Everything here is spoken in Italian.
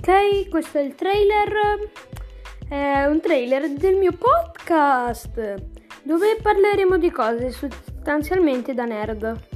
Ok, questo è il trailer, è un trailer del mio podcast, dove parleremo di cose sostanzialmente da nerd.